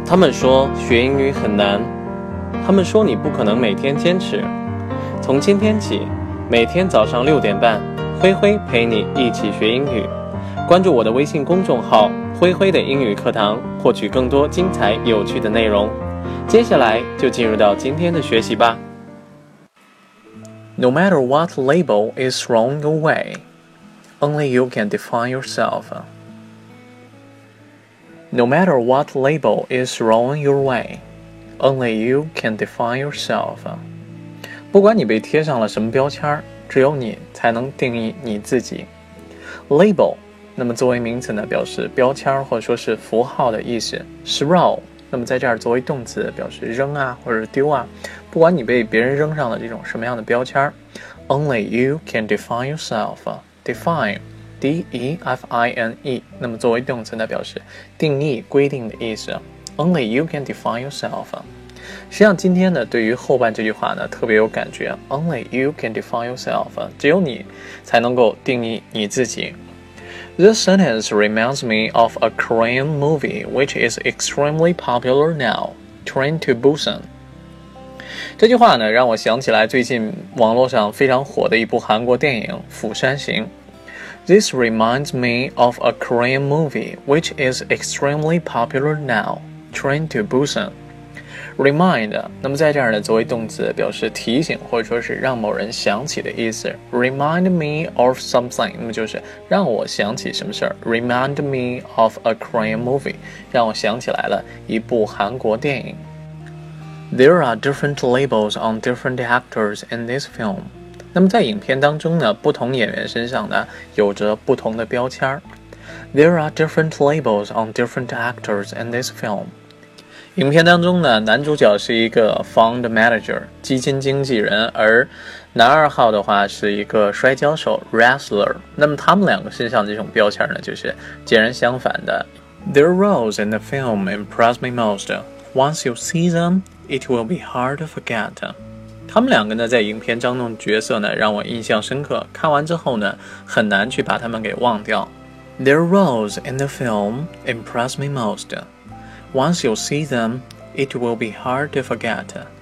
他们说学英语很难，他们说你不可能每天坚持。从今天起，每天早上6点半，灰灰陪你一起学英语。关注我的微信公众号“灰灰的英语课堂”，获取更多精彩有趣的内容。接下来就进入到今天的学习吧。No matter what label is thrown your way, only you can define yourself.No matter what label is thrown your way, only you can define yourself. 不管你被贴上了什么标签，只有你才能定义你自己。Label， 那么作为名词呢，表示标签或者说是符号的意思。Throw， 那么在这儿作为动词，表示扔啊或者丢啊。不管你被别人扔上了这种什么样的标签 ，only you can define yourself. Define。D-E-F-I-N-E， 那么作为动词呢，表示定义、规定的意思。Only you can define yourself。实际上，今天呢，对于后半这句话呢，特别有感觉。Only you can define yourself， 只有你才能够定义你自己。This sentence reminds me of a Korean movie which is extremely popular now, Train to Busan。这句话呢，让我想起来最近网络上非常火的一部韩国电影《釜山行》。This reminds me of a Korean movie which is extremely popular now, Train to Busan. Remind， 那么在这儿呢，作为动词表示提醒或者说是让某人想起的意思。Remind me of something， 那么就是让我想起什么事儿。Remind me of a Korean movie， 让我想起来了一部韩国电影。There are different labels on different actors in this film.那么在影片当中呢，不同演员身上呢有着不同的标签。There are different labels on different actors in this film. 影片当中呢，男主角是一个 fund manager 基金经纪人，而男二号的话是一个摔跤手 wrestler。那么他们两个身上这种标签呢，就是截然相反的。Their roles in the film impress me most. Once you see them, it will be hard to forget.他们两个呢，在影片当中的角色呢，让我印象深刻。看完之后呢，很难去把他们给忘掉。Their roles in the film impress me most. Once you see them, it will be hard to forget.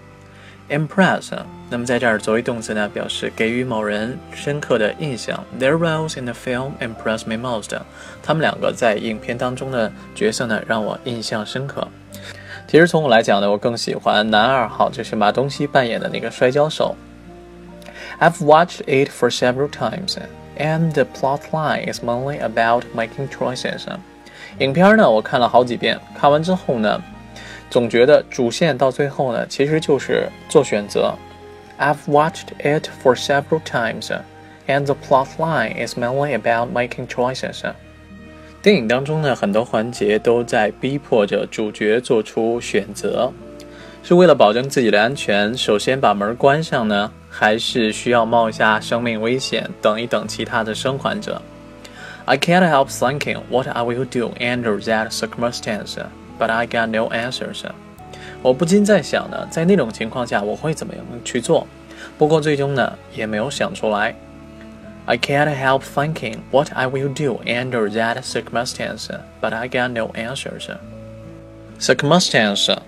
Impress， 那么在这儿作为动词呢，表示给予某人深刻的印象。Their roles in the film impress me most. 他们两个在影片当中的角色呢，让我印象深刻。其实从我来讲呢，我更喜欢男二号，就是马东锡扮演的那个摔跤手。I've watched it for several times, and the plot line is mainly about making choices. 影片呢，我看了好几遍，看完之后呢，总觉得主线到最后呢，其实就是做选择。I've watched it for several times, and the plot line is mainly about making choices.电影当中呢，很多环节都在逼迫着主角做出选择，是为了保证自己的安全，首先把门关上呢，还是需要冒一下生命危险，等一等其他的生还者。I can't help thinking what I will do under that circumstance, but I got no answers. 我不禁在想呢，在那种情况下我会怎么样去做？不过最终呢，也没有想出来。I can't help thinking what I will do under that circumstance, but I got no answers. Circumstance,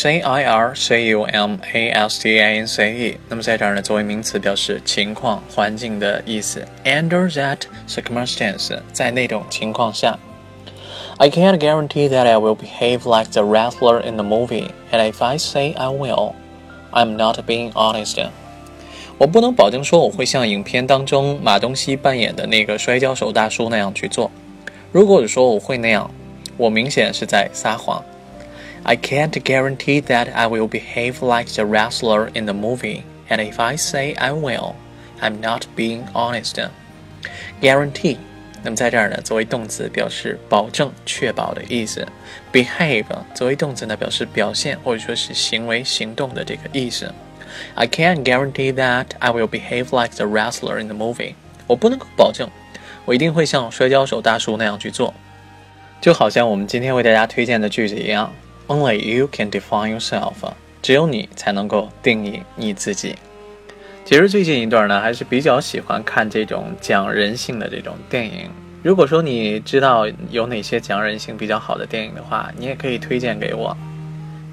C-I-R-C-U-M-A-S-T-A-N-C-E， 那么在这儿呢，作为名词表示情况、环境的意思。Under that circumstance， 在那种情况下。I can't guarantee that I will behave like the wrestler in the movie, and if I say I will, I'm not being honest.我不能保证说我会像影片当中马东锡扮演的那个摔跤手大叔那样去做。如果说我会那样，我明显是在撒谎。I can't guarantee that I will behave like the wrestler in the movie, and if I say I will, I'm not being honest. Guarantee， 那么在这儿呢，作为动词表示保证、确保的意思。Behave 作为动词呢，表示表现或者说是行为、行动的这个意思。I can't guarantee that I will behave like the wrestler in the movie. 我不能够保证，我一定会像摔跤手大叔那样去做。就好像我们今天为大家推荐的句子一样 ，Only you can define yourself. 只有你才能够定义你自己。其实最近一段呢，还是比较喜欢看这种讲人性的这种电影。如果说你知道有哪些讲人性比较好的电影的话，你也可以推荐给我。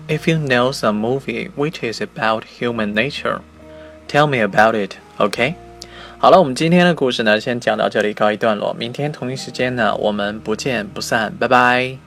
If you know some movie which is about human nature, tell me about it, OK? 好了，我们今天的故事呢，先讲到这里告一段落。明天同一时间呢，我们不见不散，拜拜。